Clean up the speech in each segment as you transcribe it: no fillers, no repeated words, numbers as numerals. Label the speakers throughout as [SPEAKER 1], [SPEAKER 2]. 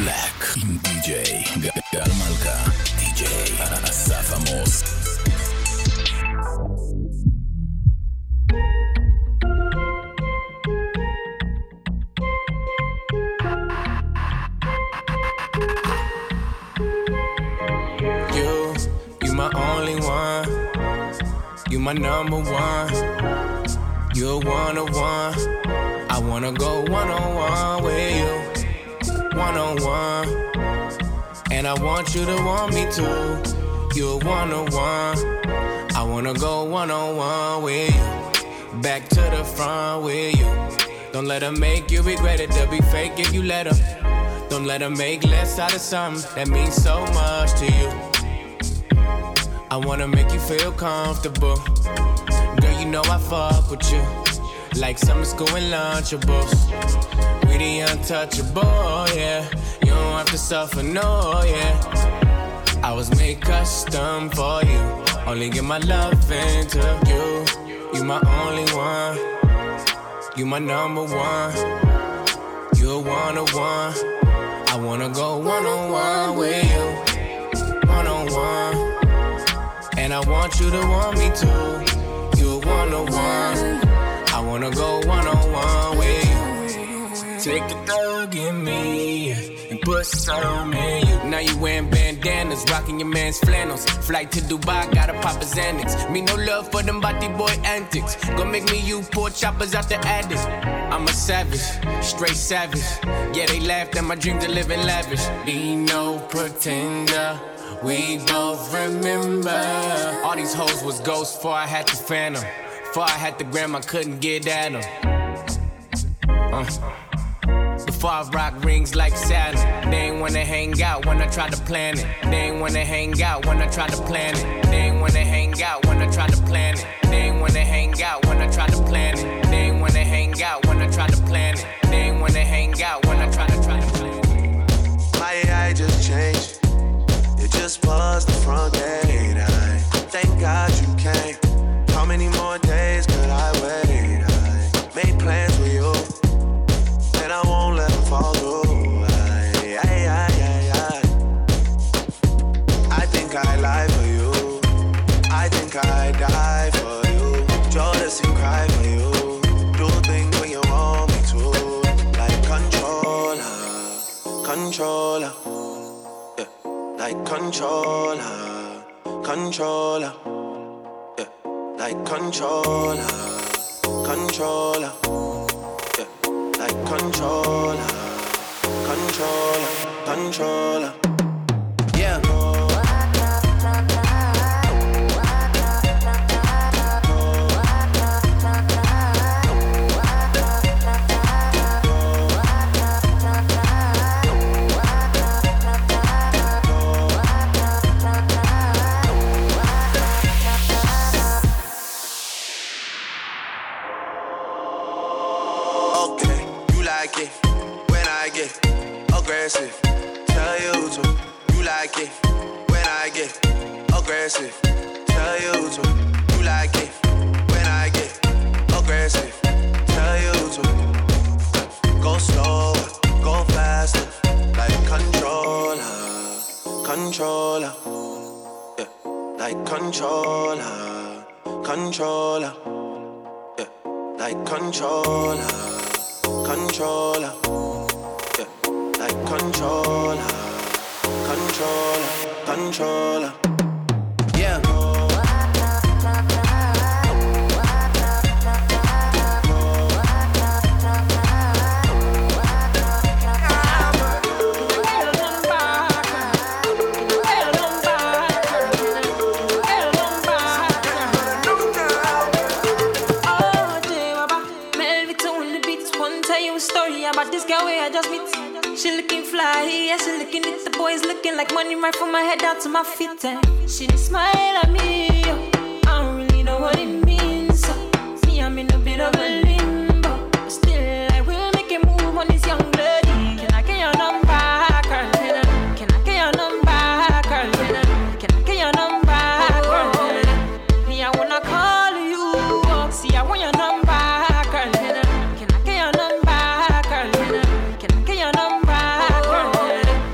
[SPEAKER 1] Black עם די.ג'יי גל מלכה, די.ג'יי אסף עמוס.
[SPEAKER 2] You my only one, you my number one, you're one-on-one. I wanna go one-on-one with you, one-on-one. And I want you to want me too, you're one-on-one. I wanna go one-on-one with you, back to the front with you. Don't let her make you regret it, they'll be fake if you let her. Don't let her make less out of something that means so much to you. I wanna make you feel comfortable. Girl, you know I fuck with you like summer school and Lunchables. We the untouchable, yeah. You don't have to suffer, no, yeah. I was made custom for you. Only give my love into you. You my only one, you my number one. You're one-on-one. I wanna go one-on-one with you, one-on-one. And I want you to want me too, you're one-on-one. I wanna go one-on-one with you. Take a thug in me and put some in you. Now you wearing bandanas, rocking your man's flannels. Flight to Dubai, gotta pop a Xanax. Me no love for them body boy antics. Gonna make me you pour choppers out the attic. I'm a savage, straight savage. Yeah, they laughed at my dream to live in lavish. Be no pretender, we both remember. All these hoes was ghosts before I had to phantom. Before I had the gram, I couldn't get at them. Before I rock rings like Saturn. They ain't wanna hang out when I try to plan it. They ain't wanna hang out when I try to plan it. They ain't wanna hang out when I try to plan it. They ain't wanna hang out when I try to plan it. They ain't wanna hang out when I try to plan it. They ain't wanna hang out when I try to plan it.
[SPEAKER 3] My AI just changed. It just buzzed the front gate. I thank God you came. How many more days could I wait? I made plans with you, and I won't let them fall through. I think I lie for you. I think I die for you. Jealous and cry for you. Do things when you want me to, like controller, controller. Like controller, controller, yeah. Like controller, controller, yeah. Like controller, controller, controller, yeah. Aggressive, tell you to. You like it when I get aggressive. Tell you to. You like it when I get aggressive. Tell you to. Go slower, go faster, like controller, controller, yeah. Like controller, controller, yeah. Like controller, controller. Like controller, controller, controller, yeah.
[SPEAKER 4] She looking fly, yeah, she looking at the boys looking like money right from my head down to my feet. And she just smile at me, I don't really know what it means. Me, I'm in a bit of a limbo, but still I will make a move on this young lady. Can I get your number, girl? Can I get your number, girl? Can I get your number, girl? Me, I wanna call you, see I want your number, girl. Can I get your number, girl? Can I get your number, girl?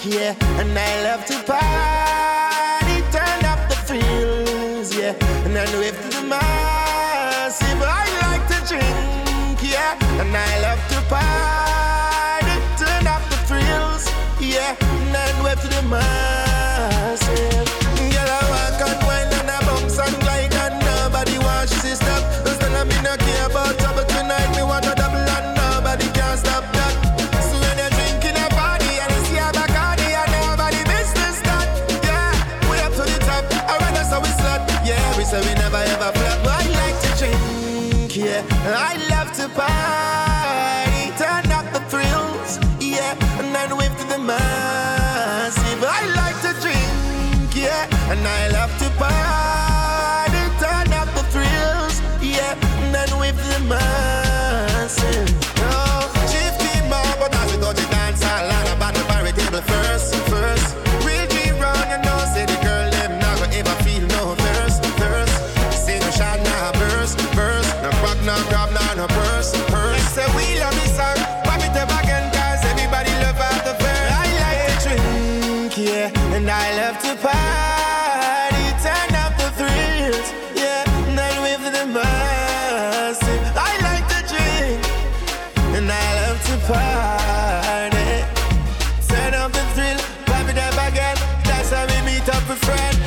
[SPEAKER 5] yeah. And I love to party, turn up the feels, yeah. And then wave to the massive. I like to drink, yeah. And I love to party, turn up the thrills, yeah. And then wave to the massive. Girl, I walk and wine and I bounce and glide and nobody wants to stop. Cause then I me not care about trouble tonight. Me want a double and nobody can stop that. So when you're drinking a party and you see a Bacardi and nobody business that, yeah, we up to the top. Alright, that's how we slut. Yeah, we say we never ever flop. But I like to drink, yeah. I love to party, turn up the thrills, yeah. And then wave to the massive. I like to drink, yeah. And I love to party, turn up the thrills, yeah. And then wave to the massive. Oh, chief keep more, but as we go to dance, I'll learn about the bar table first. Real G round, you know, say the girl them not gonna ever feel no thirst. Say no shot, nah burst. No crack, no grab, no purse. Say we love this song, pop it up again, cause everybody love out the verse. I like to drink, yeah, and I love to party, turn up the thrills, yeah, and I wave to the massive. I like to drink, and I love to party, turn up the thrill, pop it up again. That's how we meet up with friends.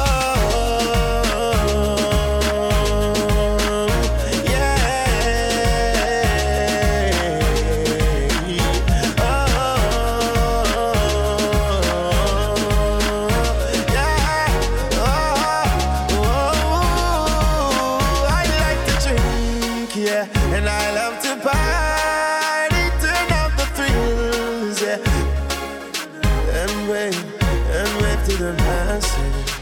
[SPEAKER 5] And I love to party, turn up the thrills, yeah. And wave to the masses.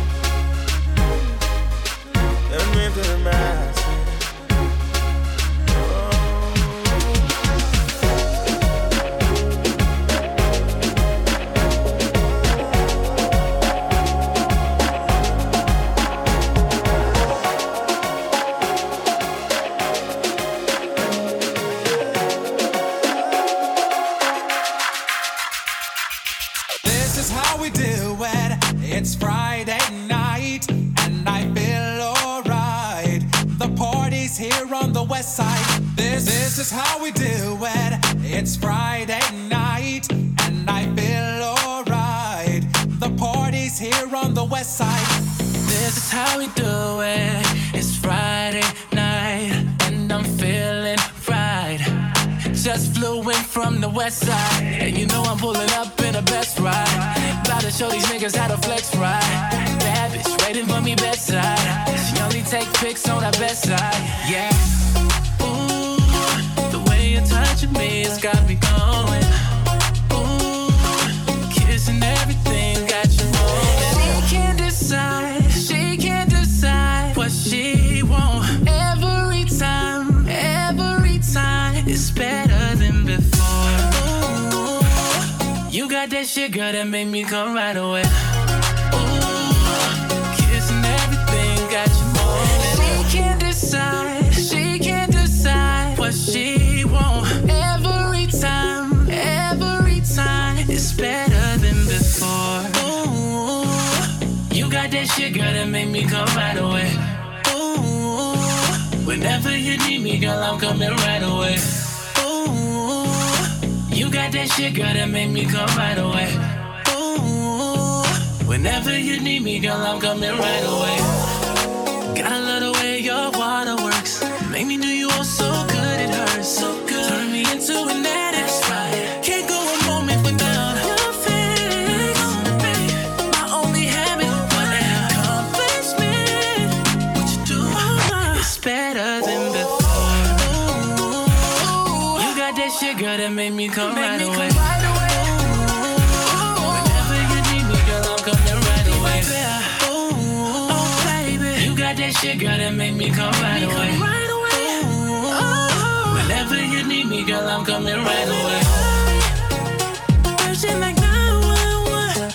[SPEAKER 5] And wave to the masses.
[SPEAKER 6] It's Friday night and I feel alright. The party's here on the west side. This is how we do it. It's Friday night and I feel alright. The party's here on the west side.
[SPEAKER 7] This is how we do it. It's Friday night and I'm feeling right. Just flew in from the west side, and you know I'm pulling up in a best ride. About to show these niggas how to flex right. Bad bitch waiting for me bedside. She only take pics on her best side. Yeah. Ooh, the way you're touching me has got me going. Ooh, kissing everything got you moving. She can't decide what she want. Every time it's better than before. Ooh, you got that shit, girl, that make me come right away. Ooh, kissing everything got you moving. She can't decide what she want. Every time it's better than before. Ooh, you got that shit, girl, that make me come right away. Ooh, whenever you need me, girl, I'm coming right away. Ooh, you got that shit, girl, that make me come right away. Ooh, whenever you need me, girl, I'm coming right away. Gotta love the way your water works. Make me do you all so good, it hurts. So good. Turn me into an addict. Right. Can't go a moment without your face. My only habit, what an accomplishment. What you do, it's better than before. Ooh, you got that shit, girl, that made me come right away. Whenever you need me, girl, I'm coming right away. Ooh, oh baby, you got that shit, girl, that made me come right away. Whenever you need me, girl, I'm coming right away. Virgin like 911.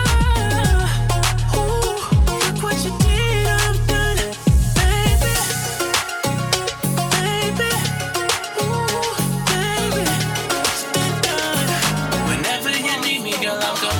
[SPEAKER 7] Ooh, look what you did, I'm done, baby. Ooh, baby, done. Whenever you need me, girl, I'm coming.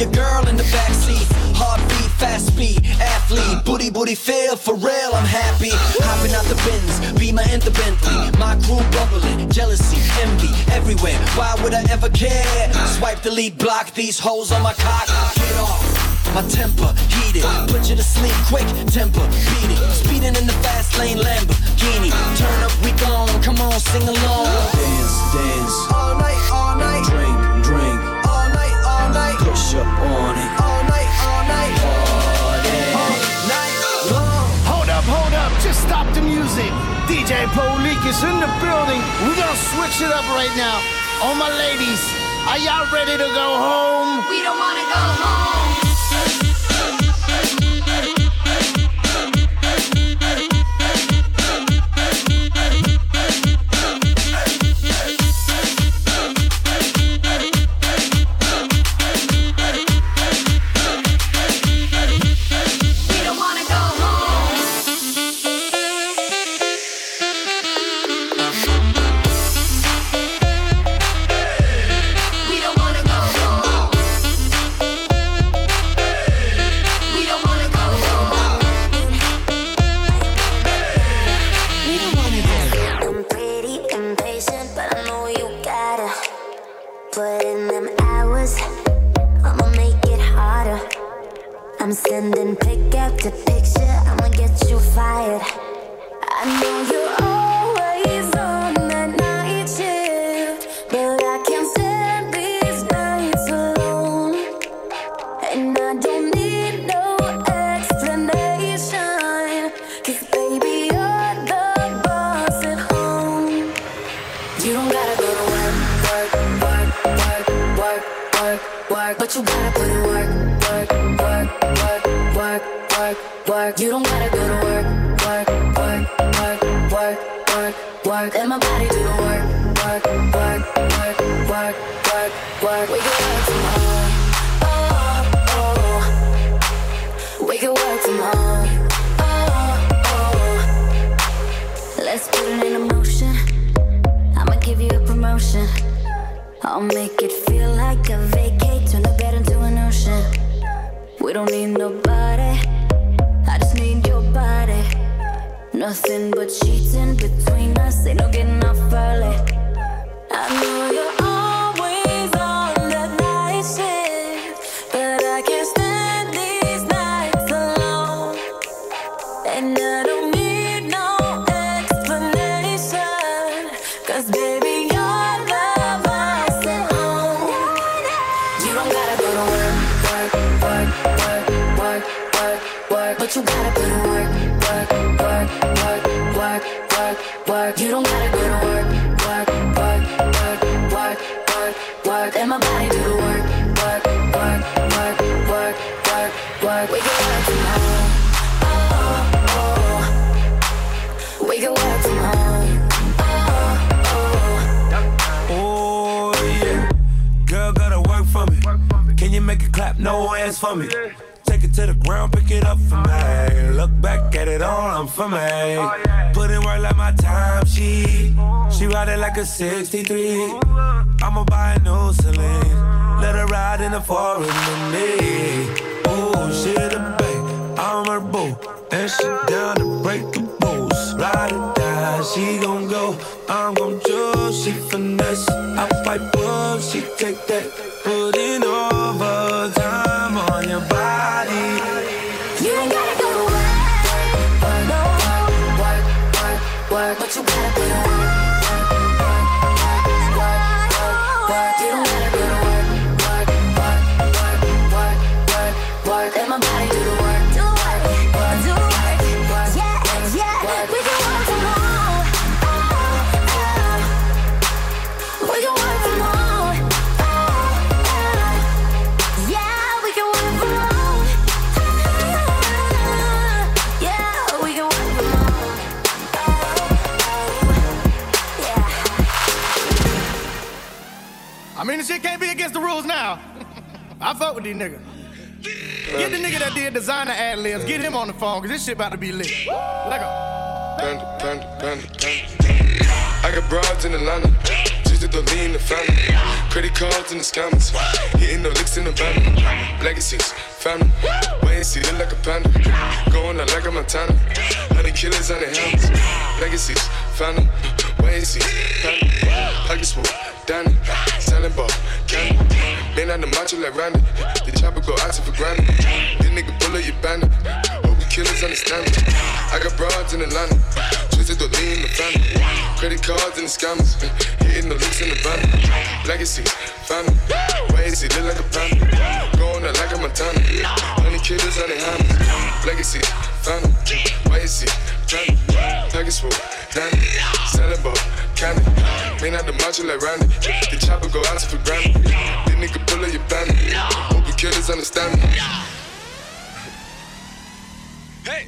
[SPEAKER 8] your girl in the backseat. Heartbeat, fast speed, athlete, booty feel for real. I'm happy. Hopping out the Benz, Beamer and the Bentley. My crew bubbling, jealousy, envy everywhere. Why would I ever care? Swipe, delete, block these hoes on my cock. Get off. My temper heated, put you to sleep quick. Temper beating, speeding in the fast lane Lamborghini. Turn up, we gone. Come on, sing along. Dance, dance. All night, all night. Drink, drink. All night, all night. Push up on it. All night, party. All night long.
[SPEAKER 9] Hold up, just stop the music. DJ Polique is in the building. We're gonna switch it up right now. All my ladies, are y'all ready to go home?
[SPEAKER 10] We don't wanna go home.
[SPEAKER 11] I'm sending pick after picture, I'ma get you fired. I know you're always on that night shift, but I can't stand these nights alone. And I don't need no explanation, 'cause baby, you're the boss at home. You don't gotta go to work, work, work, work, work, work, work, but you gotta put in work, work, work, work, work, work, work. You don't gotta go to work, work, work, work, work, work, work. Let my body do the work, work, work, work, work, work, work. We can work from home, oh, oh. We can work from home, oh, oh. Let's put it in motion. I'ma give you a promotion. I'll make it feel like a vacate, turn the bed into an ocean. We don't need nobody, I just need your body. Nothing but cheating between us, ain't no getting off early. I know you're always on that night shift, but I can't stand these nights alone. And I don't need no explanation, 'cause baby, you're the boss at home. You don't gotta go to work, work, work, work, work, work, work, but you gotta put in work, work, work, work, work, work, work. You don't gotta go to work, work, work, work, work, work, work. Let my body do the work, work, work, work, work, work, work. We can work from home, oh, oh. We can work from home, oh, oh.
[SPEAKER 12] Oh yeah, girl gotta work for me. Can you make it clap? No hands for me. Take it to the ground, pick it up for me. Look back at it all, I'm for me. Put in work like my time sheet. She ride it like a 63. I'ma buy a new Celine. Let her ride in the forest with me. Oh, she the babe, I'm her boo. And she down to break the rules. Ride or die, she gon' go. I'm gon' choose, she finesse. I fight up, she take that. Put in overtime on your body.
[SPEAKER 11] You ain't gotta go to work, work, no. Work, work, work, but you gotta put in work, work, work, work, work, work. You don't gotta go to work, work, work, work, work, work, work. Let my body do the work, do work, work, do work, work, yeah, yeah. We can work from home, oh, oh. We can work from home, oh, oh. Yeah, we can work from home, yeah, we can work from home, oh, yeah.
[SPEAKER 9] I mean, this shit can't be against the rules now. I fuck with these niggas. Get the nigga that did designer ad-libs, get him on the phone, 'cause this shit about to be lit. Let go.
[SPEAKER 13] I got broads in Atlanta, just to
[SPEAKER 10] the lean, the family. Credit cards in the scammers. Hitting the licks in the van. Legacies, family. Wait and see, look like a panda. Going out like a Montana. 100 killers on the helmets. Legacies, family. Wait and see, family. Pockets full, Danny. Selling ball, candy. Man on the macho like Randy. The chopper go out for granted. This nigga bullet, you bandit. Hope the killers understand me. I got broads in Atlanta. Twisted the lean in the family. Credit cards and the scammers. Hitting the licks in the van. Legacies, family. Wait and see, look like a panda. Going out like a Montana. 100 killers on the helmets. Legacies, family. Wait and see, family. Pockets full, Danny. Selling ball, candy. Man out the macho like Randy. The chopper go out for granted. This nigga pull up your bandit. Hope the killers understand me. Hey!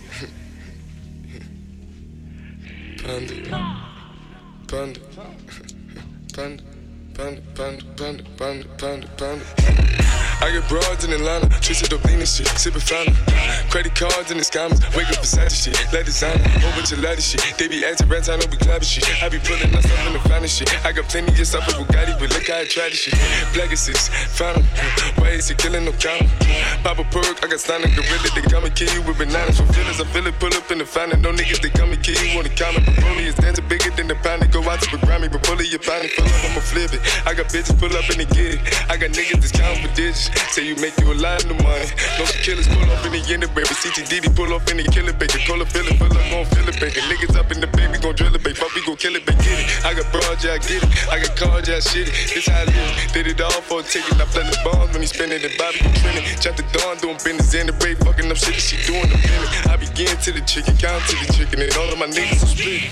[SPEAKER 10] Panda. Panda. Panda. Panda, panda, panda, panda, panda, panda. I get broads in Atlanta, twisted up lean and shit, sippin' fountain. Credit cards and the scammers, wake up beside the shit, let designer, whole bunch of ladder shit. They be acting rats, I know we clapping shit. I be pulling us up in the finest shit. I got plenty of stuff with Bugatti, but look how I try this shit. Black assist, fountain, why is he killing no counter? Pop a perk, I got stunning gorilla, they come and kill you with bananas. For feelings, I feel it, pull up in the fountain. No niggas, they come and kill you on the counter. Broly is dancing bigger than the pound. Go out to the Grammy, but pull it, your pound, pull up, I'ma flip it. I got bitches pull up and they get it. I got niggas that's counting for digits. Say you make you a lot of money. No some killers pull up in the end of baby. CTDD pull up in the killer baby. Call a feeling, pull up, gon' feel it, baby. Niggas up in the baby, gon' drill it, baby. Fuck, we gon' kill it, baby. Get it. I got broad, yeah, I get it. I got cards, yeah, I shit it. This how I live. Did it all for a ticket. I play the bombs when he spinning the Bobby, you trending. Chop the dawn, doing business in the break. Fucking up shit that she doing the minute. I begin to the chicken, count to the chicken, and all of my niggas are split.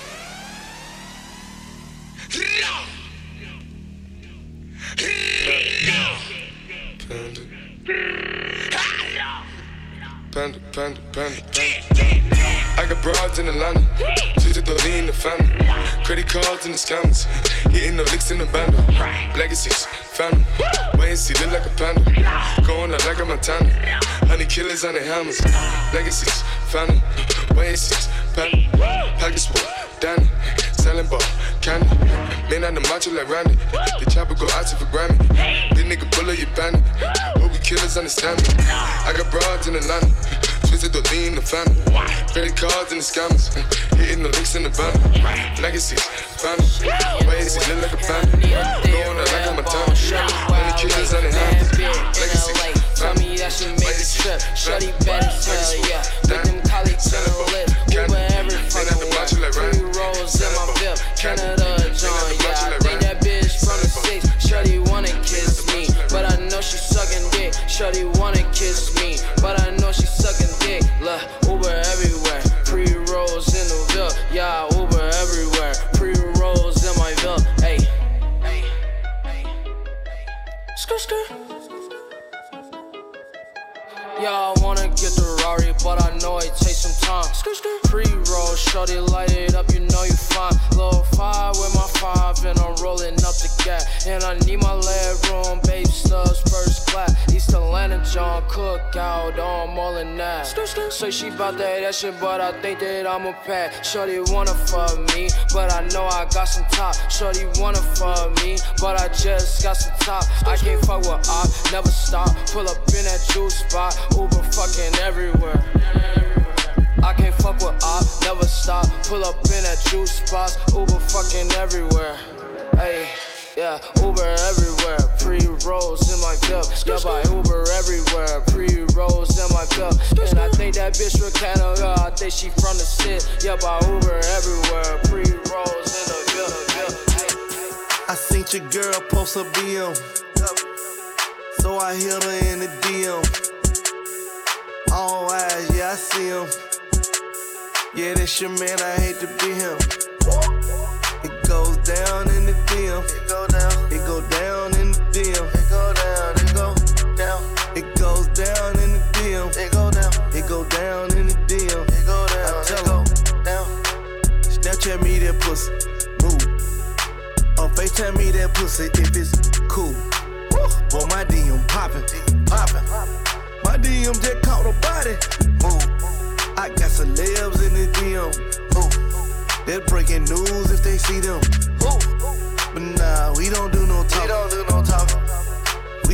[SPEAKER 10] Panda, panda, panda, panda. I got broads in Atlanta, twisted the lean in the family. Credit cards and the scammers, hitting the licks in the bando. Legacies, family, wait and see, look like a panda. Going out like a Montana, 100 killers on the helmets. Legacies, family, wait and see, family. Pockets full, Danny, selling ball, candy. Man on the macho like Randy, the chopper go out for Grammy. This nigga pull up your bandit, hope we killers understand me. I got broads in Atlanta, twisted the lean in the family. Credit cards and the scammers, hitting the licks in the van. Legacies, family, wait and see, look like a panda. Going out like a Montana, 100 killers on the hands. Legacies,
[SPEAKER 13] tell me that she made the trip. Shorty bad as hell, yeah. With them colleagues on her lip. Uber every fucking way. 3 rolls in my VIP. Canada John, yeah. I think that bitch from the 6. Shorty wanna kiss me, but I know she sucking dick. Shorty wanna kiss me, but I know she sucking dick. Look, Uber everywhere. 3 rolls in the VIP. Yeah, Uber everywhere. 3 rolls in my VIP. Hey, hey, hey. Skirt, skirt. Yeah, I wanna get the Rari, but I know it takes some time. Pre-roll, shorty, light it up, you know you fine. Low 5 with my 5, and I'm rolling up the gap. And I need my leg room, baby stubs, first class. East Atlanta, John Cookout, I'm all in that. Say she bout that shit, but I think that I'm a pack. Shorty wanna fuck me, but I know I got some top. Shorty wanna fuck me, but I just got some top. I can't fuck with op, never stop. Pull up in that juice spot. Uber fucking everywhere. I can't fuck with op, never stop. Pull up in that juice spots. Uber fucking everywhere. Hey, yeah, Uber everywhere. Pre-rolls in my cup. Yeah, by Uber everywhere. Pre-rolls in my cup. And I think that bitch from Canada. I think she from the city. Yeah, by Uber everywhere. Pre-rolls in the cup.
[SPEAKER 14] I seen your girl post a BM, so I hit her in the DM. All eyes, yeah, I see him. Yeah, that's your man, I hate to be him. It goes down in the DM. It go down. It go down in the DM. It go down. It go down. It goes down in the DM. It go down. It go down in the DM. It go down. I tell him, down. Snapchat me that pussy, move. Or FaceTime me that pussy if it's cool. Boy, my DM poppin', poppin'. My DM just caught a body. Move. I got celebs in the DM. They're breaking news if they see them. But nah,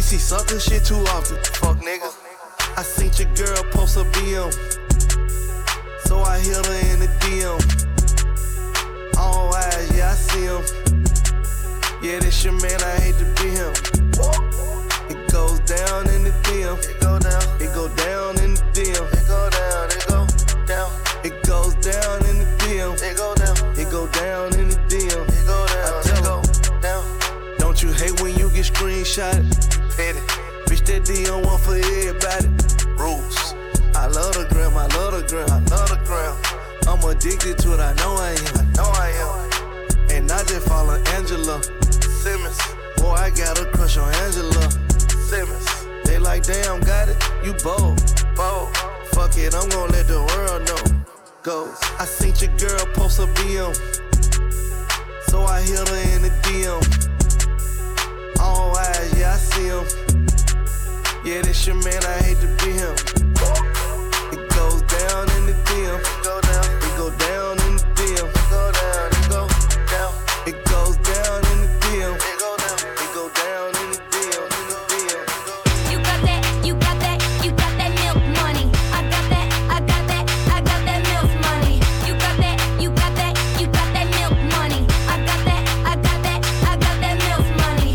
[SPEAKER 14] see sucker shit too often. Fuck niggas. I seen your girl post a BM, so I hit her in the DM. All eyes, yeah, I see him. Yeah, this your man, I hate to be him. It goes down in the DM. It go down. It go down in the DM. It go down. It go down. It goes down in the DM. It go down. It go down in the DM. It go down. I tell it down. Don't you hate when you get screenshotted? Petty. Bitch, that DM one for everybody. Rules. I love the gram. I love the gram. I love the gram. I'm addicted to it. I know I am. I know I am. And I just follow Angela Simmons. Boy, I got a crush on Angela Simmons. They like, damn, got it. You bold. Bold. Fuck it, I'm gon' let the world know. Goes. I seen your girl post a BM, so I hit her in the DM. All eyes, yeah, I see him. Yeah, this your man, I hate to be him. It goes down in the DM. It go down. It go down in the DM. It go down. It go down. It goes down in the DM. It go down. It go down in the DM. In the DM.
[SPEAKER 11] You got that, you got that, you got that milk money. I got that, I got that, I got that milk money. You got that, you got that, you got that milk money. I got that, I got that, I got that milk money.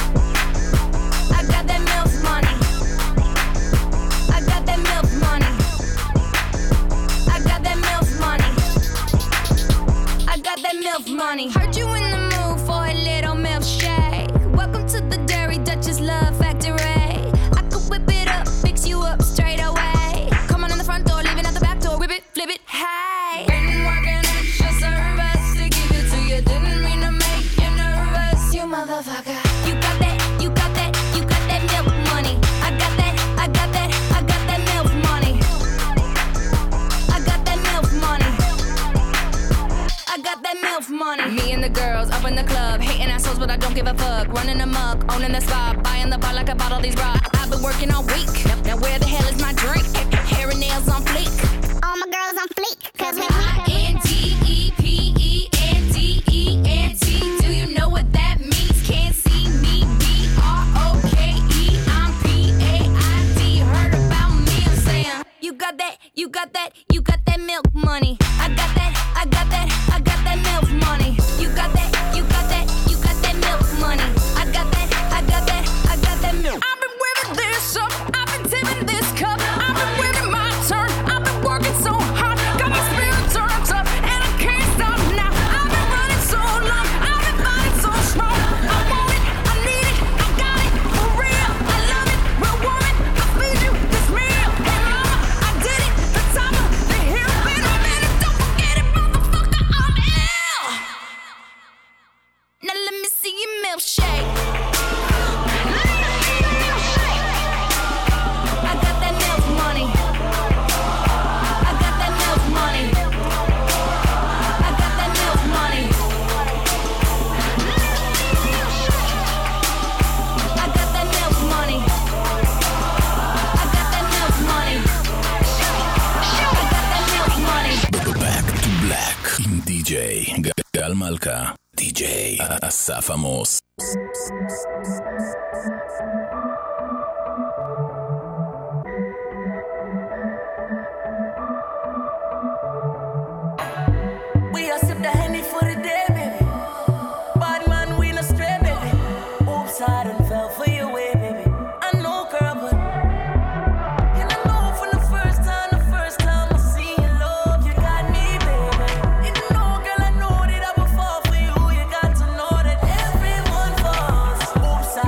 [SPEAKER 11] I got that milk money. I got that milk money. I got that milk money. I got that milk money. Heard you in the mood for a little milkshake. Welcome to the Dairy Duchess Love Factory. I could whip it up, fix you up straight away. Come on in the front door, leave it at the back door. Whip it, flip it, hey. Been working extra service to give it to you. Didn't mean to make you nervous, you motherfucker. You got that, you got that, you got that milk money. I got that, I got that, I got that milk money. I got that milk money. I got that milk money. Me and the girls up in the club, hating assholes, but I don't give a fuck. Running amok, owning the spot, buying the bar like I bought all these rocks. I've been working all week. Now where the hell is my drink? Hair and nails on fleek. All my girls on fleek, cause we INDEPENDENT. Do you know what that means? Can't see me. BROKE. I'm PAID. Heard about me? I'm saying you got that, you got that, you got that milk money. I got that, I got that, I got that milk money. You got that, you got that, you got that milk money. I got that, I got that, I got that milk. I've been wearing this up, I've been tipping this cup, I've been waiting my turn, I've been working so hard, got my spirit turned up, and I can't stop now. I've been running so long, I've been fighting so strong. I want it, I need it, I got it, for real. I love it, real woman, I feed you this meal. Hey mama, I did it, the top of the hill. Wait a minute, don't forget it, motherfucker, I'm ill. Now let me see your milkshake. I got that milk money. I got that milk money. I got that milk money. I got that milk money. I got that milk money. I got that milk money.
[SPEAKER 1] Back to black עם DJ גל מלכה, DJ אסף עמוס.
[SPEAKER 15] We a sip the Henny for the day, baby. Bad man, we no stray, baby. Oops, I done fell for your way, baby. I know, girl, but and I know from the first time I see your love, you got me, baby. You know, girl, I know that I would fall for you. You got to know that everyone falls. Oops,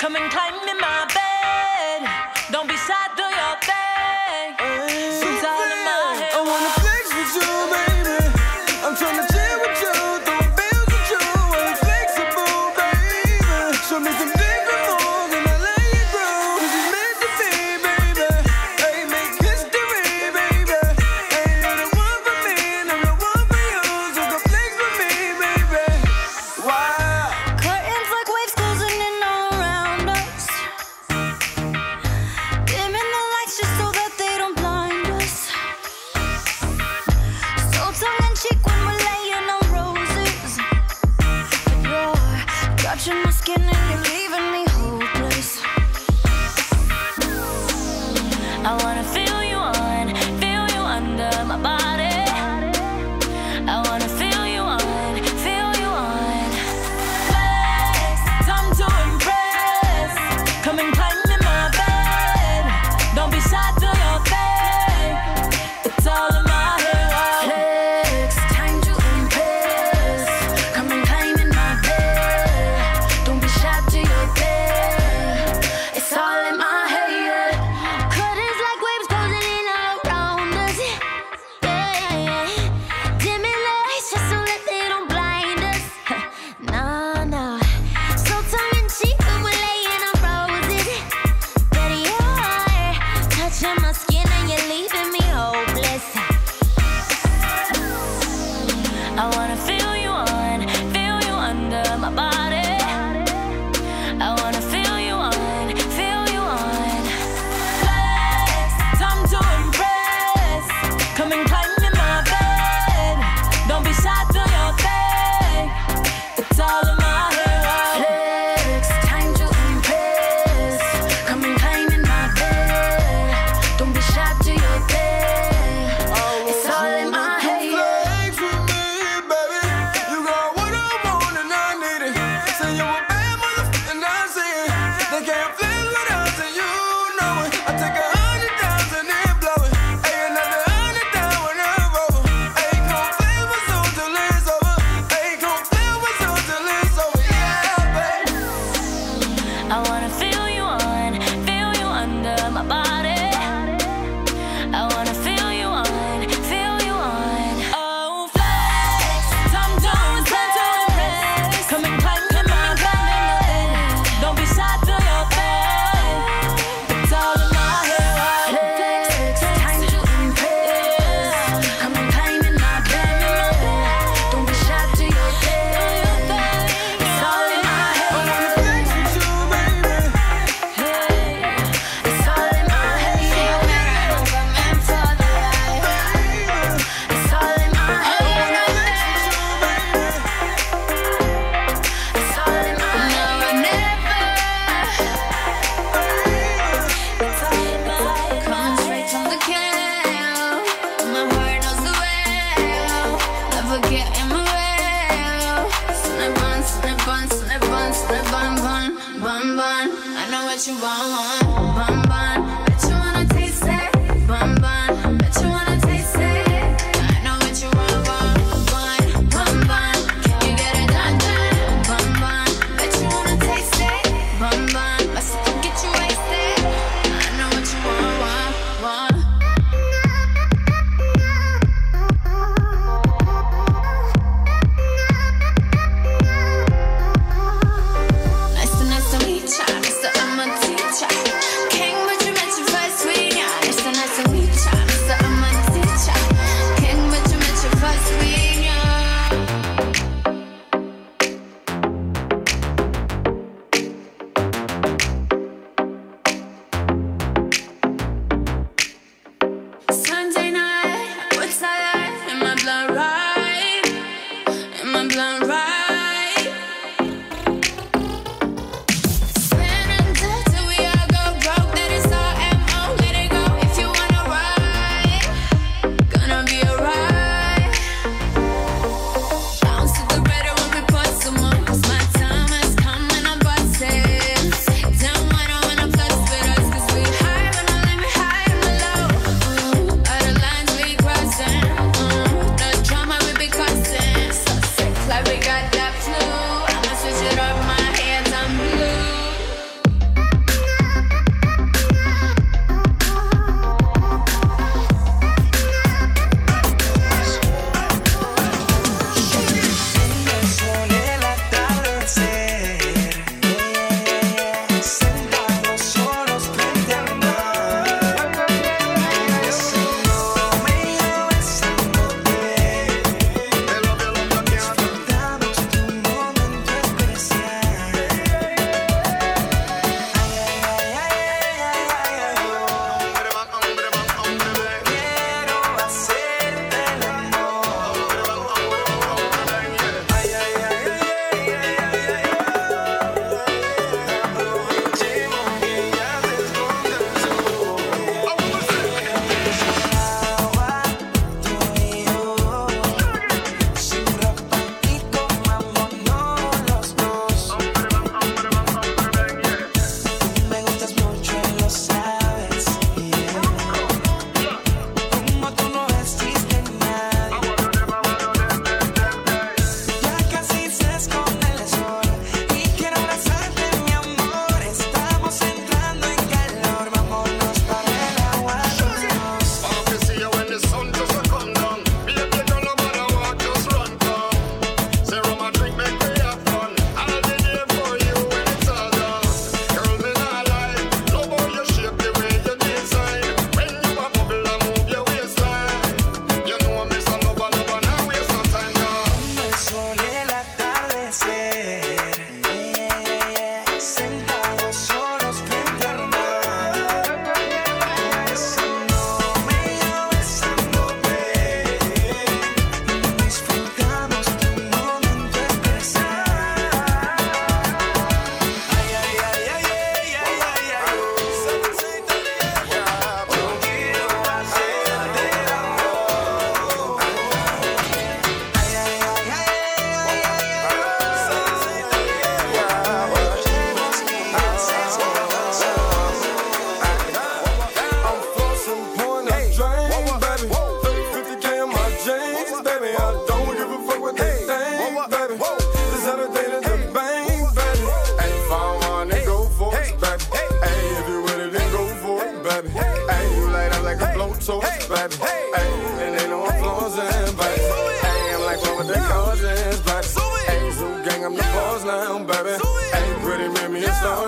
[SPEAKER 4] Come and climb in my bed. Don't be sad, do your thing. It's all in my head.
[SPEAKER 12] I wanna flex with you, baby. I'm tryna chill with you, throw bills with you. I'm flexible, baby. Show me some different moves and I let you grow. 'Cause it's meant to be, baby. Hey, make history, baby. Hey, you're the one for me and I'm the one for you. So come flex with me, baby. Wow.
[SPEAKER 11] Curtains like waves closing in all around us. Dimming the lights just so that they don't blind us. So tongue in cheek when we're laying on roses. But you're touching my skin and you're leaving me hopeless. I wanna feel you under my body. I wanna feel you on. Flex, time to impress. Come and climb in my bed. Don't be shy, do your thing. It's all in my head. Flex, time to impress. Come and climb in my bed. Don't be shy, do your thing. It's all in my head. Curtains like waves closing in all around us. Yeah. Dimming the lights just so that they don't blind us. No. So tongue in cheek when we're laying on roses. But you're touching my skin and you're leaving me hopeless. I wanna feel you under my body. I wanna feel you on. Flex, time to impress. Come and climb in my bed. Don't be shy, do your thing. It's all in my head. Flex, time to impress. Come and climb in my bed. Don't be shy, do your thing. It's all in my head.
[SPEAKER 12] Flex with me, baby. You got what I want and I need it. Say you a bad motherfucker and I see it. They can't flex without it, you know it. I take 100,000 and blow it. Hey, another 100,000 and over. Hey, come flex with you till it's over. Hey, come flex with you till it's over. Yeah, baby.
[SPEAKER 11] I wanna feel you under my body. I wanna feel you on. Oh, flex, time to impress. Come and climb in my bed. Don't be shy, do your thing. It's all in my head. Flex, time to impress. Come and climb in my bed. Don't be shy, do your thing. It's all in my head.
[SPEAKER 12] Flex with you, baby.
[SPEAKER 11] It's all in my head. I'm meant for the life. It's all in my head. It's all in my head. Now or never. It's all in my head. Coming straight from the can. My heart knows the way. Never get in my way. Snip on, snip on, snip on, snip on, bun, bun, bun. I know what you want, bun, bun. Bet you wanna taste it, bun, bun. Bet you wanna taste it. I know what you want, bun, bun, bun. Can you get it done, bun, bun. Bet you wanna taste it, bun, bun. My sister get you wasted. I know what you want. Nice to meet ya, Mr. I'm a teacher. King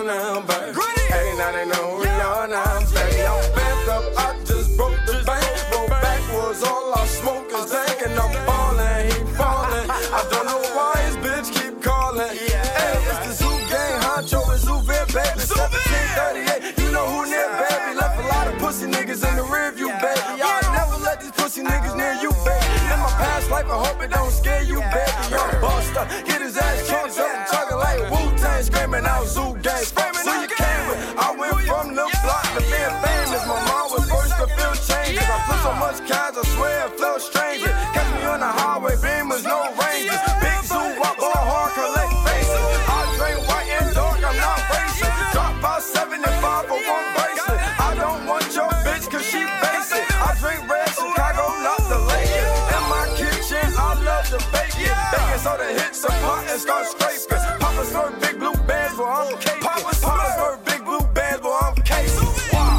[SPEAKER 10] on now, baby. Hey, now they know we on now, baby. I'm backed up, I just broke the bank. Roll backwards, all I smoke is dank. And I'm ballin', he fallin'. I don't know why his bitch keep calling. Hey, it's the Zoo Gang, Honcho and Zouvin, baby. 1738, you know who near, baby. Left a lot of pussy niggas in the rear view, baby. I never let these pussy niggas near you, baby. In my past life, I hope it don't scare you, baby. Young Buster, get his ass chunked up and chugging like Wu-Tang, screaming out Zoo Gang. So you came with, I went from the block to being famous. My mom was first to feel changes. I put so much cash, I swear it felt stranger. Catch me on the highway, beamers, no ranges. Big Zoo, I ball hard, collect faces. I drink white and dark, I'm not racing. Drop about 75 for one bracelet. I don't want your bitch, cause she basic. I drink red Chicago, not the Lakers. In my kitchen, I love the bacon. Bacon so the hits a pot and start scraping. Papa serve big blue bands, but I'm caping. Papa serve big blue bands, but I'm casing. Wow.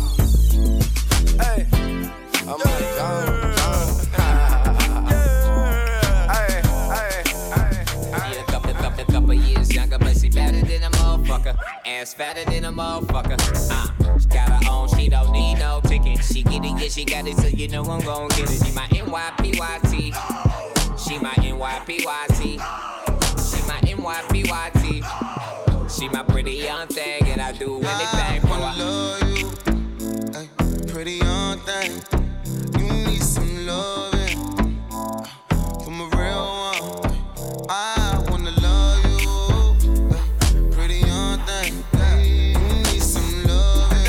[SPEAKER 10] Hey, I'm like John.
[SPEAKER 16] Couple years younger, but she better than a motherfucker. Ass fatter than a motherfucker. She got her own, she don't need no ticket. She get it, yeah, she got it, so you know I'm gon' get it. She my NYPYT. She my NYPYT. She my NYPYT. She my pretty young thing, and I do anything for her.
[SPEAKER 17] I love you, ay, pretty young thing. You need some loving from a real one. I wanna love you, pretty young thing. You need some loving,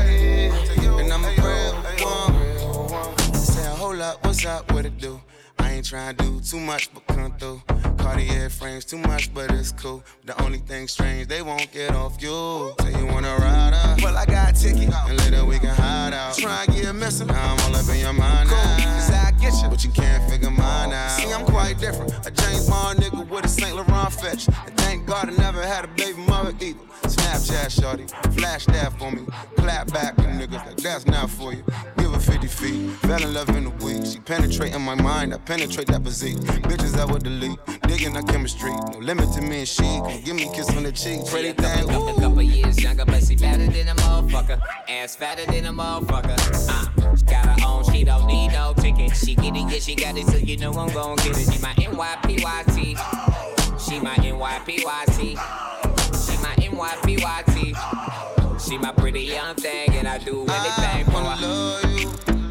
[SPEAKER 17] and I'm a real one. Say a whole lot, what's up, what it do? I ain't tryna do too much, but come through. Cartier frames too much, but it's cool. The only thing strange, they won't get off you. Say you wanna ride up, well I got a ticket, and later we can hide out. Try and get missing, now I'm all up in your mind now. Cause I get you, but you can't figure mine out. See, I'm quite different, a James Bond nigga with a St. Laurent fetch. And thank God I never had a baby mother either. Snapchat shorty, flash that for me. Clap back with niggas like that's not for you. Give her 50 feet, fell in love in a week. She penetrating my mind, I penetrate that physique. Bitches I would delete, digging our chemistry. No limit to me and she, gon' give me a kiss on the cheek. Pretty thing,
[SPEAKER 16] a couple years younger, but she better than a motherfucker. Ass fatter than a motherfucker. She got her own, she don't need no ticket. She get it, yeah, she got it, so you know I'm gon' get it. She my NYPYT. She my NYPYT. She my NYPYT. She my pretty young thing, and I do anything for her.
[SPEAKER 17] I love you,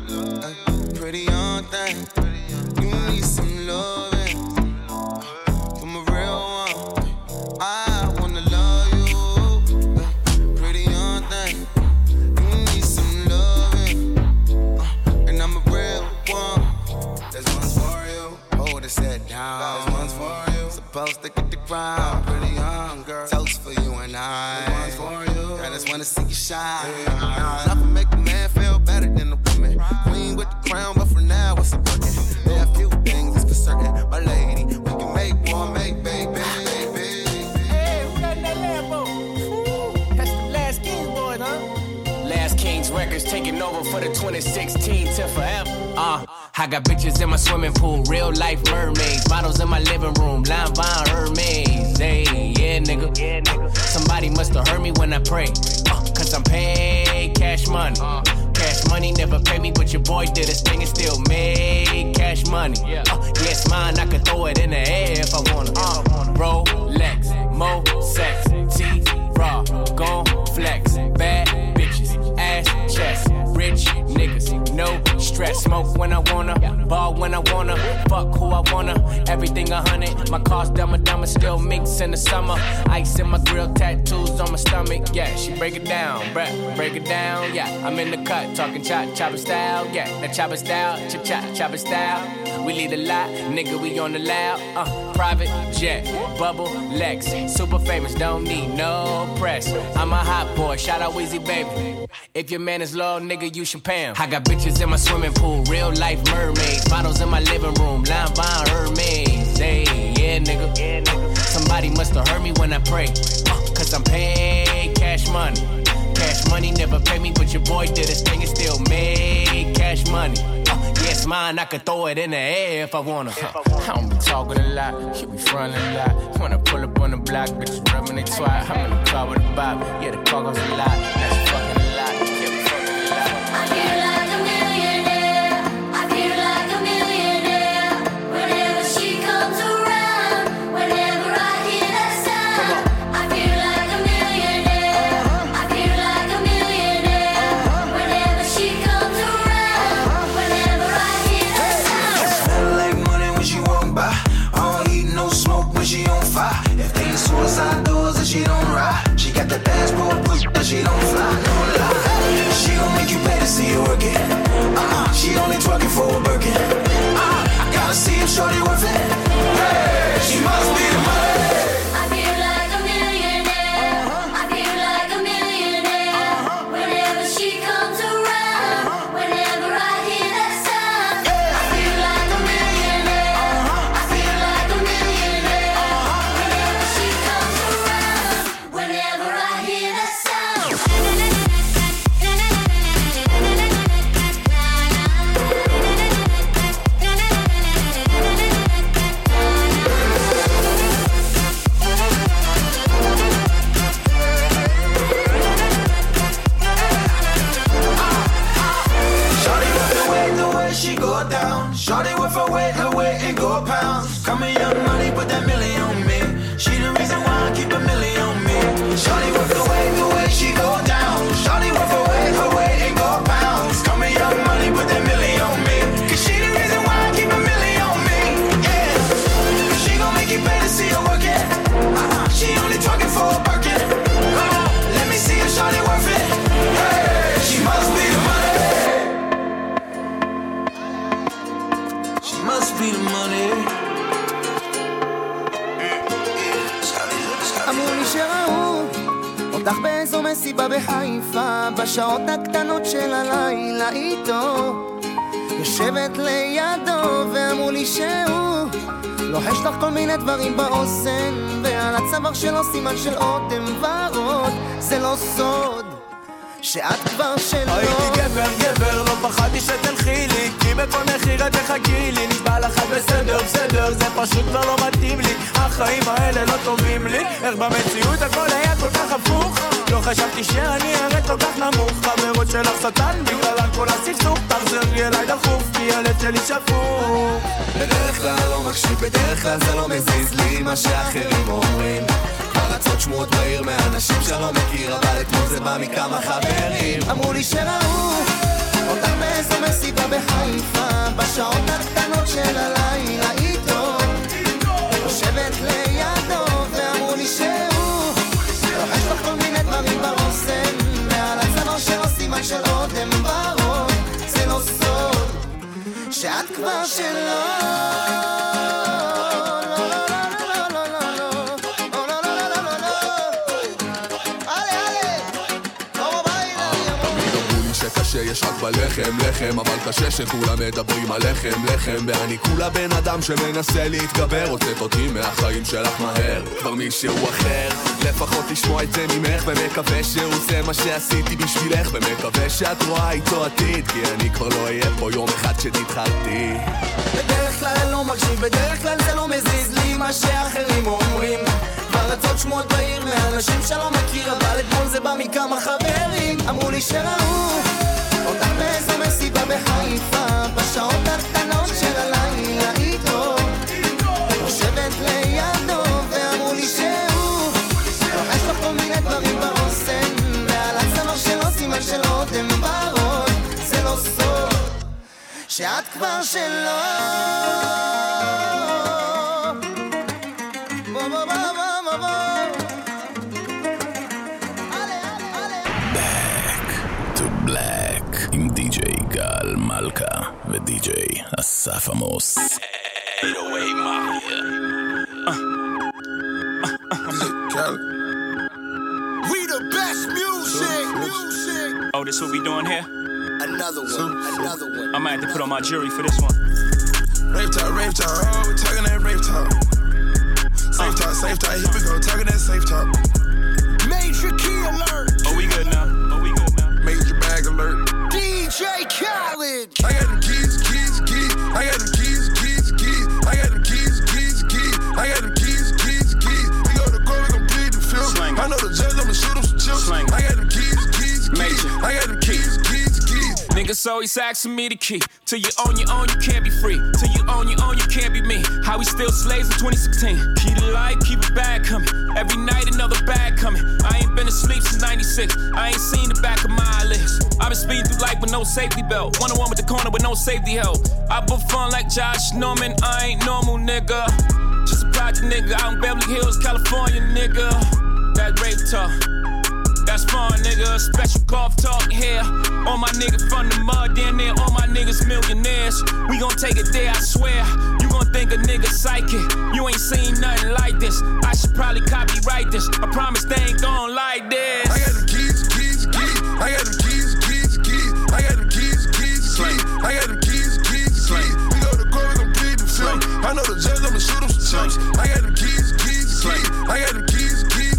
[SPEAKER 17] pretty young thing. You need some loving from a real one. I wanna love you, pretty young thing. You need some loving, and I'm a real one. There's one's for you, hold it set down. There's one's for you, supposed to get the crown. Pretty young girl, toast for you and I. There's one's for you, I just wanna see you shine. Nothing make a man feel better than a woman. Queen with the crown, but for now it's a working. There are a few things that's for certain, my lady. We can make one, make baby.
[SPEAKER 18] Hey, who got that Lambo? That's the Last Kings boy, huh? Last Kings Records taking over for the 2016 till forever. I got bitches in my swimming pool, real life mermaids. Models in my living room, Line Von Hermes. Hey, yeah, nigga. Somebody must have heard me when I pray. Cause I'm paid cash money. Cash money never pay me, but your boy did his thing and still made cash money. Yes, mine, I could throw it in the air if I wanna. Rolex, Mo, sex, T-Raw, gon' flex, bad bitches, ass, chest, rich niggas, no stress. Smoke when I wanna, ball when I wanna, fuck who I wanna. Everything 100, my car's dumb, still mix in the summer. Ice in my grill, tattoos on my stomach. Yeah, she break it down, bruh, break it down. Yeah, I'm in the cut, talking chopper style. Yeah, that chopper style, chopper style. We lead a lot, nigga, we on the loud. Private jet, bubble, Lex, super famous, don't need no press. I'm a hot boy, shout out Weezy baby. If your man is low, nigga, you should pay him. I got bitches in my swimming pool, real life mermaids. Models in my living room, Line Von Hermes. Hey, yeah, nigga. Somebody must have heard me when I pray. Cause I'm paid cash money. Cash money never pay me, but your boy did his thing and still made cash money. Yes, mine, I could throw it in the air if I wanna. I don't be talking a lot, you be frontin' a lot. When I pull up on the block, bitches rubbing they twat. I'm in the car with a bop. Yeah, the car goes a lot, that's fucking a lot. Yeah, we fucking a lot.
[SPEAKER 11] I feel like a millionaire. I feel like a millionaire. Whenever she comes around, whenever I hear that sound, I feel like a millionaire. I feel like a millionaire. Whenever she comes around, whenever I hear that sound.
[SPEAKER 8] Smell like money when she walk by. I don't eat no smoke when she on fire. If they ain't suicide doors and she don't ride, she got the passport push but she don't fly. No lie, she gon' make you pay to see her work it. She only twerking for a Birkin. I gotta see if shorty worth it. Hey, she must be the money.
[SPEAKER 11] I feel like a millionaire. I feel like a millionaire. Whenever she comes around, whenever I hear that sound, I feel like a millionaire. I feel like a millionaire. Whenever she comes around, whenever I hear that sound.
[SPEAKER 8] Shorty with the way she go down. Shorty with her weight and go pounds. Come here, young money, put that million on me. She the reason why I keep a million on me. Shorty with the way she go down. Shorty with her weight and go pounds. Come here, young money, put that million on me. Cause she the reason why I keep a million on me. Yeah, she gon' make you pay to see her work it. She only talking for a Birkin. Let me see if shorty worth it. Hey, she must be the money. She must be the money.
[SPEAKER 19] אמרו לי שראו אותך באיזו מסיבה בחיפה, בשעות הקטנות של הלילה איתו, יושבת לידו, ואמרו לי שהוא לוחש לך כל מיני דברים באוזן, ועל הצוואר שלו סימן של אודם ורוד. זה לא סוד שאת כבר שלו.
[SPEAKER 20] הייתי גבר, לא פחדתי שתלכי לי, כי בכל מחיר את תחכי לי. נשבע לך בסדר, זה פשוט כבר לא מתאים לי. החיים האלה לא טובים לי. איך במציאות הכל היה כל כך הפוך, לא חשבתי שאני ארד כל כך נמוך. חברות שלך שטן, בגלל כל הסכסוך. תחזרי אליי דחוף, כי הלב שלי שפוך.
[SPEAKER 8] בדרך כלל לא מקשיב, בדרך כלל זה לא מזיז לי מה שאחרים אומרים. פרצות שמועות בעיר מאנשים שלא מכיר, אבל אתמול זה בא מכמה חברים.
[SPEAKER 19] אמרו לי שראו אותך באיזו מסיבה בחיפה, בשעות הקטנות של הלילה איתו, יושבת לידו, ואמרו לי שהוא לוחש לך כל מיני דברים באוזן, ועל הצוואר שלו סימן של אודם ורוד. זה לא סוד שאת כבר שלו.
[SPEAKER 21] שיש רק בלחם, לחם, אבל קשה שכולם מדברים על לחם, לחם. ואני כולה בן אדם שמנסה להתגבר, הוצאת אותי מהחיים שלך מהר, כבר מישהו אחר. לפחות לשמוע את זה ממך, ומקווה שהוא זה מה שעשיתי בשבילך, ומקווה שאת רואה איתו עתיד, כי אני כבר לא אהיה פה יום אחד שתתחרתי.
[SPEAKER 19] בדרך כלל לא מקשיב, בדרך כלל זה לא מזיז לי מה שאחרים אומרים. פרצות שמועות בעיר מאנשים שלא מכיר, אבל אתמול זה בא מכמה חברים. אמרו לי שראו אותך באיזו מסיבה בחיפה, בשעות הקטנות של הלילה איתו, יושבת לידו, ואמרו לי שהוא לוחש לך כל מיני דברים באוזן, ועל הצוואר שלו סימן של אודם ורוד. זה לא סוד שאת כבר שלו.
[SPEAKER 1] עם די.ג'יי גל מלכה ודי.ג'יי אסף עמוס.
[SPEAKER 9] We the best music.
[SPEAKER 22] Oh, this what we doing here?
[SPEAKER 9] Another one.
[SPEAKER 22] I might have to put on my jury for this one.
[SPEAKER 10] Rave talk, oh, we talking that rave talk. Safe talk, here we go, talking that safe talk.
[SPEAKER 9] Major key alert.
[SPEAKER 22] Oh, we good now.
[SPEAKER 10] Major bag alert.
[SPEAKER 9] DJ Khaled.
[SPEAKER 10] I got them keys. I got them keys. I got them keys. I got them keys. We go to court, we gon' plead the fifth. I know the judge, I'ma shoot him.
[SPEAKER 22] Niggas always asking me the key. Till you own your own, you can't be free. Till you own your own, you can't be me. How we still slaves in 2016. Keep the light, keep it bad coming. Every night another bag coming. I ain't been asleep since 96. I ain't seen the back of my eyelids. I've been speeding through life with no safety belt. 101 with the corner with no safety help. I book fun like Josh Norman. I ain't normal, nigga. Just a project nigga out in Beverly Hills, California, nigga. That rape talk. That's fun, nigga. Special golf talk here. All my niggas from the mud, damn near all my niggas millionaires. We gon' take it there, I swear. You gon' think a nigga psychic. You ain't seen nothing like this. I should probably copyright this. I promise they ain't gon' like this.
[SPEAKER 10] I got them keys. I got them keys. I got them keys. I got them keys. We go to court, we gon' plead the film. I know the judge, I'ma shoot him some chips. I got them keys. I got them keys.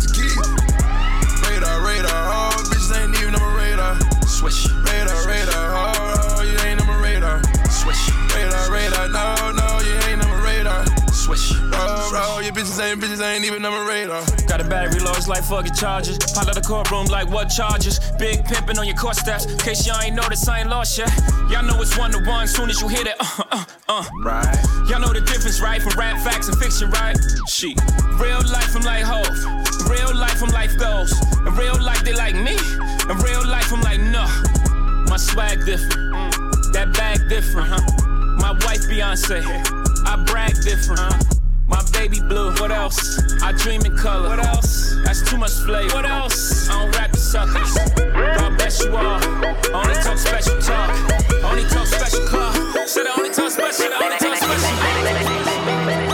[SPEAKER 10] Radar, oh, bitches ain't even on my radar. Swish. Radar, oh, you ain't on my radar. Swish. Radar, no, you ain't on my radar. Swish. Oh, your bitches ain't even on my radar.
[SPEAKER 22] Got a battery low, it's like fucking charges. Pile out the courtroom like what charges? Big pimpin' on your court steps. In case y'all ain't noticed, I ain't lost yet. Y'all know it's 1-to-1 soon as you hit it. Right. Y'all know the difference, right? From rap facts and fiction, right? Shit. Real life, I'm like Hov. Real life, I'm life goes. In real life, they like me. In real life, I'm like, no. My swag different. That bag different, My wife, Beyonce. I brag different, My baby blue. What else? I dream in color. What else? That's too much flavor. What else? I don't rap the suckers. God bless you all. Only talk special talk. Only talk special car. Said I only talk special. I only talk special.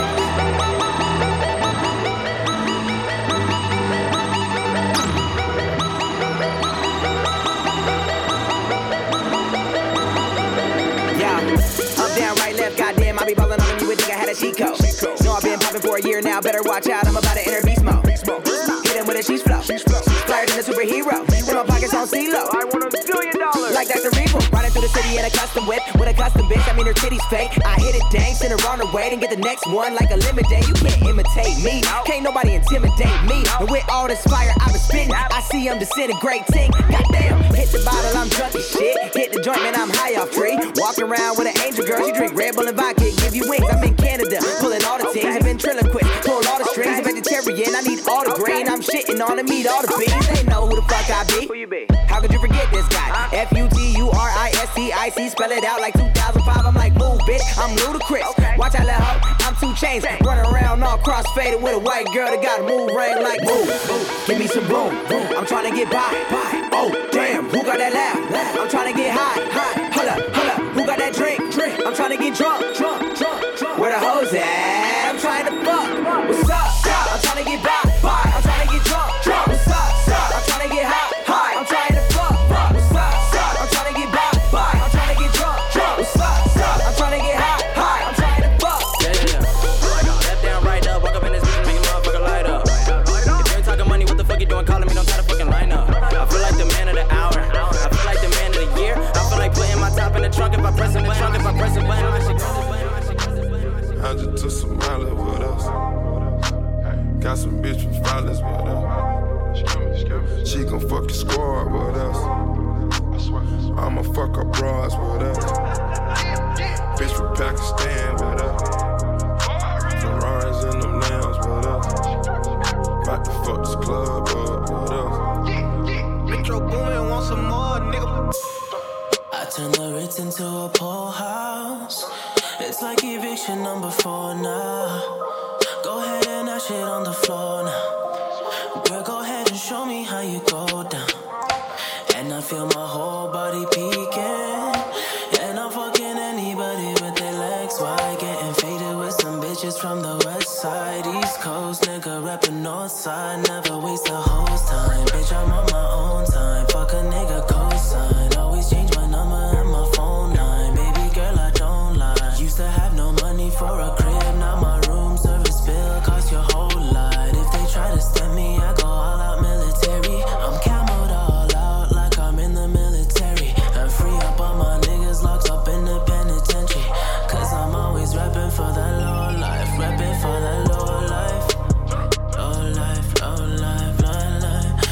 [SPEAKER 2] Down, right, left, goddamn, I be ballin' on you would think I had a cheat code. No, I've been poppin' for a year now, better watch out, I'm about to enter beast mode. Hit him with a sheesh flow, flyer than a superhero. In my pockets on CeeLo. I want $1 billion. Like Dr. Revo, riding through the city in a custom whip with a custom bitch. I mean her titties fake. I hit it dang, send her on her way, then get the next one like a limit day. You can't imitate me, can't nobody intimidate me. And with all this fire I've been spitting, I see I'm disintegrating. Goddamn, hit the bottle, I'm drunk as shit. Hit the joint, man, I'm high off tree. Walking around with an angel girl, she drink Red Bull and vodka, give you wings. I'm in Canada, pulling all the things. I've been ventriloquist, pull all the strings. I'm vegetarian, I need all the grain. I'm shitting on the meat, all the beans. They know who the fuck I be. Who you be? How could you forget this guy? F-U-T-U-R-I-S-T-I-C, spell it out like 2005. I'm like, move, bitch, I'm ludicrous. Watch out, let hoe, I'm 2 Chainz. Running around all cross-faded with a white girl that got a move ring like move. Give me some room, I'm trying to get by. Oh, damn, who got that loud? I'm trying to get high. Hold up, who got that drink? I'm trying to get drunk. Where the hoes at? I'm trying to fuck. What's up? I'm trying to get by. I'm trying to get drunk. What's up? I'm trying to get high. I'm trying to fuck. What's up? I'm trying to get by. I'm trying to get drunk. What's up? I'm trying to get high. I'm trying to fuck.
[SPEAKER 3] Yeah. Left down, right up. Walk up in this bitch, make a motherfucker light up. If you ain't talking money, what the fuck you doing calling me? Don't try to fucking line up. I feel like the man of the hour. I feel like the man of the year. I feel like putting my top in the trunk. If I press in the trunk, if I press a button, I should go.
[SPEAKER 10] I just took some mileage with us. Got some bitch from Flawless with us. She gon' fuck your squad with us. I'ma fuck her bras with us. Bitch from Pakistan with us. Ferraris in them lambs with us. About to fuck this club up with us.
[SPEAKER 19] Metro Boomin want some more, nigga.
[SPEAKER 7] I turn the Ritz into a pool house. It's like eviction number 4 now. Go ahead and that shit on the floor now. Girl, go ahead and show me how you go down. And I feel my whole body peeking. And I'm fucking anybody with their legs wide. Getting faded with some bitches from the west side. East Coast, nigga rapping north side. Never waste the whole time. Bitch, I'm on my own time. Fuck a nigga cosign. Always change my number and my phone line. Baby girl, I don't lie. Used to have no money for a crib. Now my room service bill cost your whole lot. If they try to stem me, I go all out military. I'm camoed all out like I'm in the military. And free up all my niggas locked up in the penitentiary. Cause I'm always rapping for the low life. Rapping for the low life. Low life, low life, low life.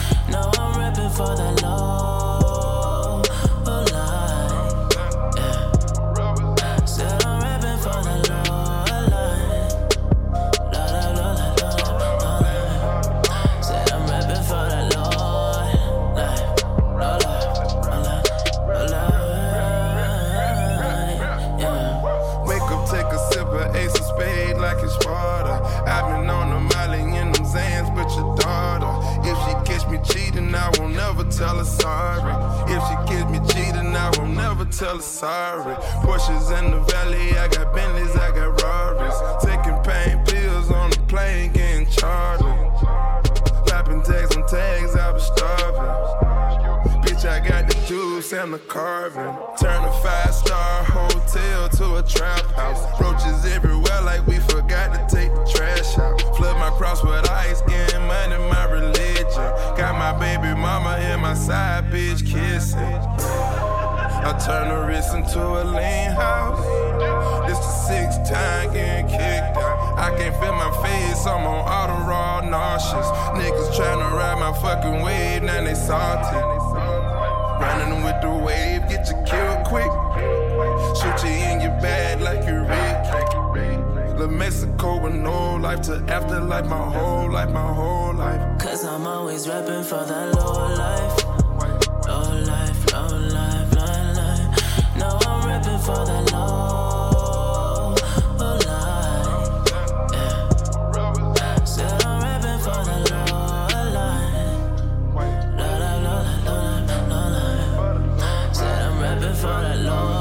[SPEAKER 10] tell her sorry. If she catch me cheating, I won't never tell her sorry. Porsches in the valley, I got Bentleys, I got Rarries. Taking pain pills on the plane, getting chartered. Lapping tags on tags, I was starving. Bitch, I got the juice and the carving. Turn a 5-star hotel to a trap house. Roaches everywhere like we forgot to take the trash out. Flood my cross with ice, getting money, my religion. Got my baby mama and my side bitch kissing. I turn the wrist into a lean house. This the 6th time getting kicked out. I can't feel my face, I'm on auto raw nauseous. Niggas tryna ride my fucking wave, now they salty. Running with the wave, get you killed quick. Shoot you in your bag like you Rick. La Mexico with no life to afterlife, my whole life, my whole life.
[SPEAKER 5] Cause I'm always rapping for that low life. Low life, low life, low life. No, I'm rapping for that low life. Yeah. Said I'm rapping for that low life. Low life, low life, low life, low life. Said I'm rapping for that low life.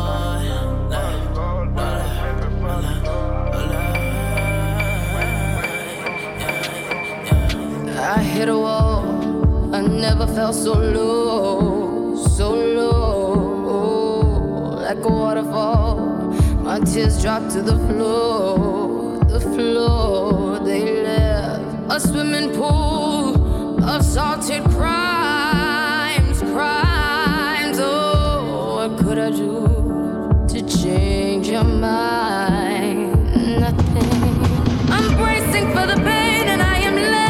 [SPEAKER 6] I hit a wall, I never felt so low, like a waterfall. My tears dropped to the floor, they left a swimming pool of salted crimes. Oh, what could I do to change your mind? Nothing. I'm bracing for the pain and I am letting.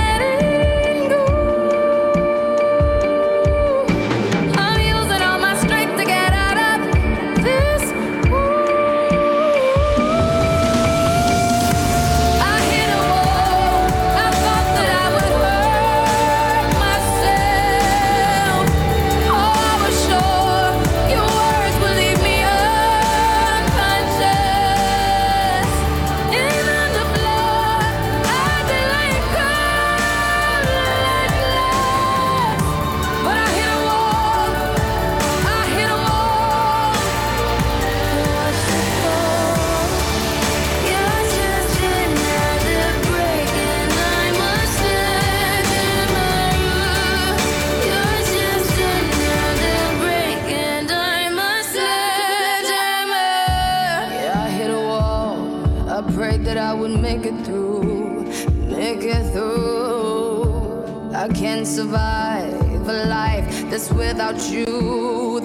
[SPEAKER 6] I can't survive a life that's without you,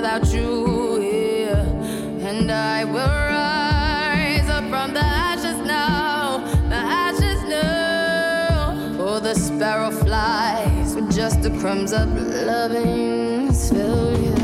[SPEAKER 6] yeah. And I will rise up from the ashes now. For the sparrow flies with just the crumbs of loving failure.